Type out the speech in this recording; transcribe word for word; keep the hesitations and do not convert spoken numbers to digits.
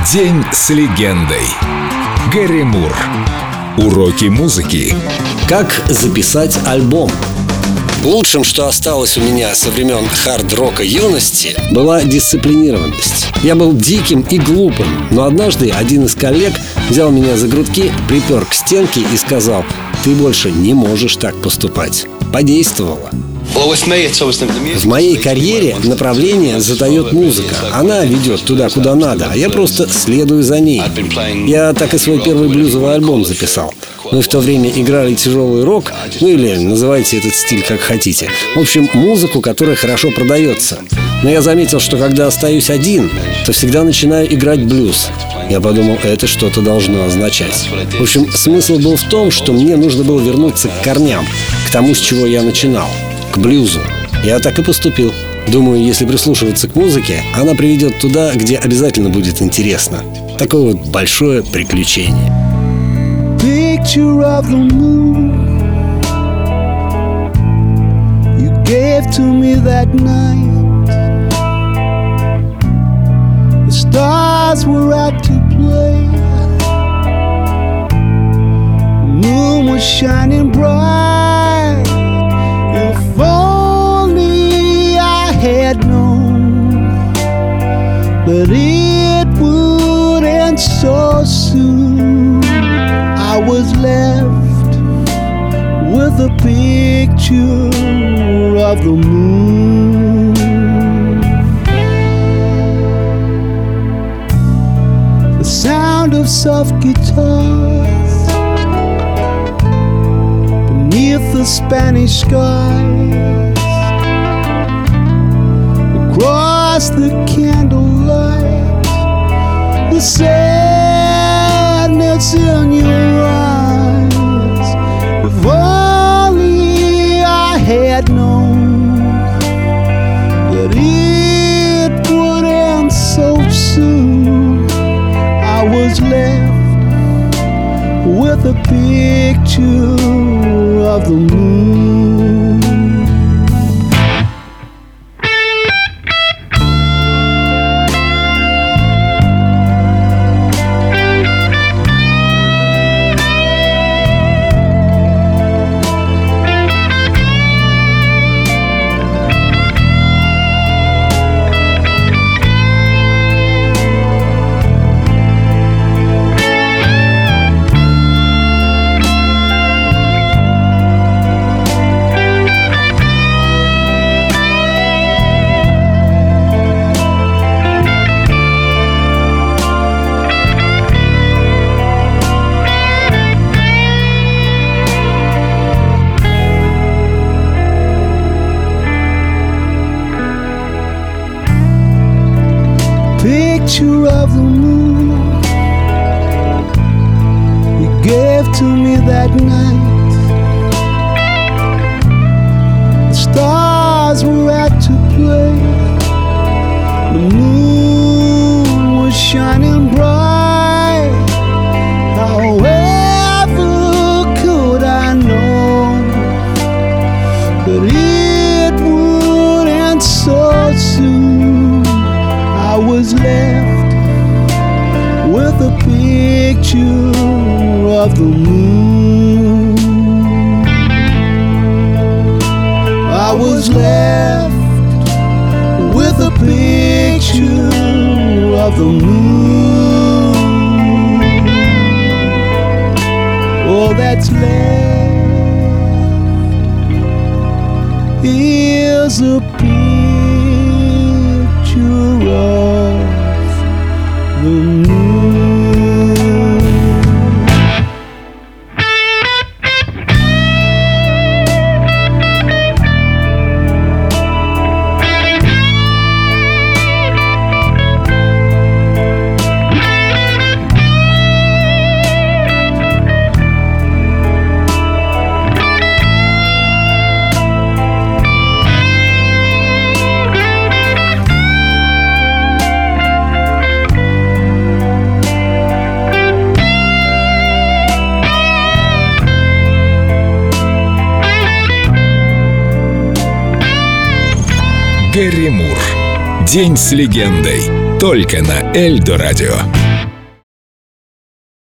День с легендой. Гэри Мур. Уроки музыки. Как записать альбом? Лучшим, что осталось у меня со времен хард-рока юности, была дисциплинированность. Я был диким и глупым, но однажды один из коллег взял меня за грудки, припер к стенке и сказал: «Ты больше не можешь так поступать». Подействовало. В моей карьере направление задает музыка. Она ведет туда, куда надо, а я просто следую за ней. Я так и свой первый блюзовый альбом записал. Мы в то время играли тяжелый рок, ну или называйте этот стиль как хотите. В общем, музыку, которая хорошо продается. Но я заметил, что когда остаюсь один, то всегда начинаю играть блюз. Я подумал, это что-то должно означать. В общем, смысл был в том, что мне нужно было вернуться к корням, к тому, с чего я начинал, к блюзу. Я так и поступил. Думаю, если прислушиваться к музыке, она приведет туда, где обязательно будет интересно. Такое вот большое приключение. Picture of the moon you gave to me that night. The stars were out to play. The moon was shining bright. If only I had known that it would end so soon. I was left with a picture of the moon. The sound of soft guitars beneath the Spanish skies, across the candlelight, the sadness in your eyes. If only I had known that it would end so soon. I was left with a picture of the moon. Picture of the moon you gave to me that night. The stars were out to play. The moon was shining bright. However could I know that it would end so soon? I was left with a picture of the moon. I was left with a picture of the moon. All that's left is a picture of the moon. Гэри Мур. День с легендой. Только на Эльдо радио.